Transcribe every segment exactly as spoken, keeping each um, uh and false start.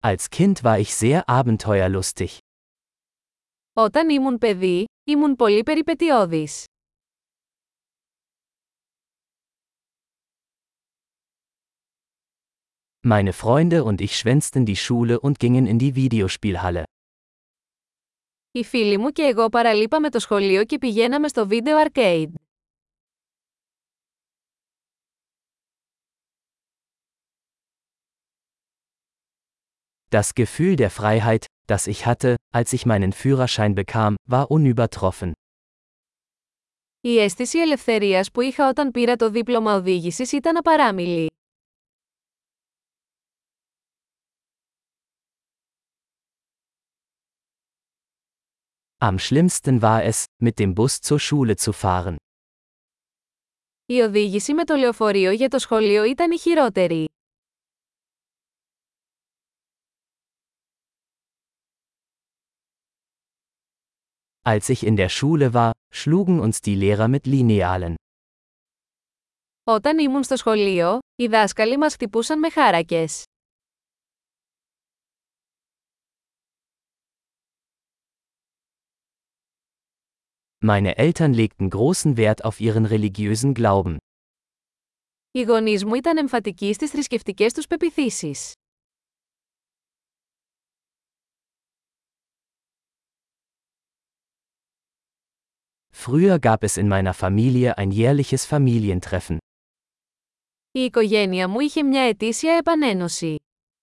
Als Kind war ich sehr abenteuerlustig. Όταν ήμουν παιδί, ήμουν πολύ περιπετειώδης. Meine Freunde und ich schwänzten die Schule und gingen in die Videospielhalle. Οι φίλοι μου και εγώ παραλείπαμε το σχολείο και πηγαίναμε στο βίντεο arcade. Das Gefühl der Freiheit, das ich hatte, als ich meinen Führerschein bekam, war unübertroffen. Η αίσθηση ελευθερίας που είχα όταν πήρα το δίπλωμα οδήγησης ήταν απαράμιλη. Am schlimmsten war es, mit dem Bus zur Schule zu fahren. Η οδήγηση με το λεωφορείο για το σχολείο ήταν η χειρότερη. Als ich in der Schule war, schlugen uns die Lehrer mit Linealen. Όταν ήμουν στο σχολείο, οι δάσκαλοι μας χτυπούσαν με χάρακες. Meine Eltern legten großen Wert auf ihren religiösen Glauben. Οι γονείς μου ήταν εμφατικοί στις θρησκευτικές τους πεποιθήσεις. Früher gab es in meiner Familie ein jährliches Familientreffen. Η οικογένεια μου είχε μια ετήσια επανένωση.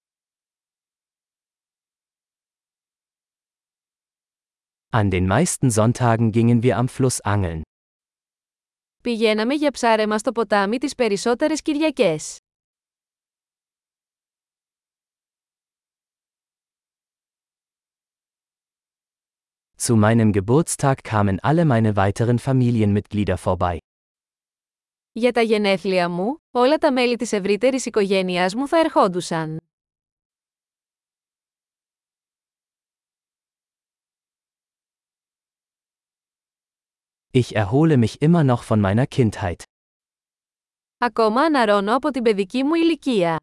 An den meisten Sonntagen gingen wir am Fluss angeln. Πηγαίναμε για ψάρεμα στο ποτάμι τις περισσότερες Κυριακές. Zu meinem Geburtstag kamen alle meine weiteren Familienmitglieder vorbei. Για τα γενέθλια μου, όλα τα μέλη της ευρύτερης οικογένειάς μου θα ερχόντουσαν. Ich erhole mich immer noch von meiner Kindheit. Ακόμα αναρρώνω από την παιδική μου ηλικία.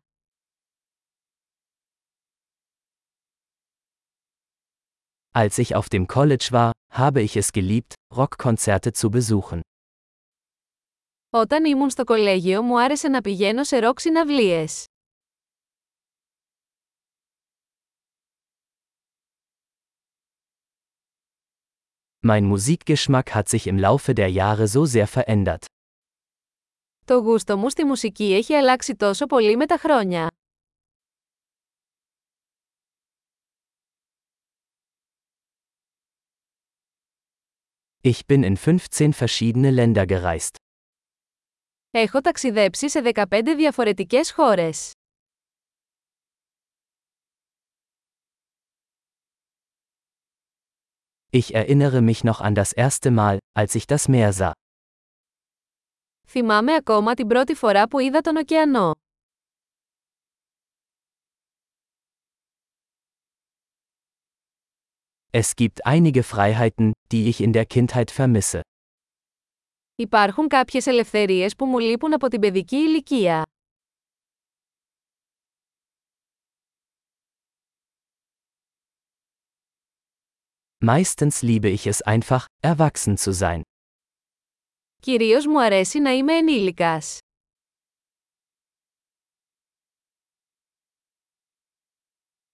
Als ich auf dem College war, habe ich es geliebt, Rockkonzerte zu besuchen. Όταν ήμουν στο κολέγιο μου άρεσε να πηγαίνω σε ροκ συναυλίες. Mein Musikgeschmack hat sich im Laufe der Jahre so sehr verändert. Το γούστο μου στη μουσική έχει αλλάξει τόσο πολύ με τα χρόνια. Ich bin in fünfzehn verschiedene Länder gereist. Έχω ταξιδέψει σε δεκαπέντε διαφορετικές χώρες. Ich erinnere mich noch an das erste Mal, als ich das Meer sah. Θυμάμαι ακόμα την πρώτη φορά που είδα τον ωκεανό. Es gibt einige Freiheiten, die ich in der Kindheit vermisse. Υπάρχουν κάποιες ελευθερίες που μου λείπουν από την παιδική ηλικία. Meistens liebe ich es einfach, erwachsen zu sein. Κυρίως μου αρέσει να είμαι ενήλικας.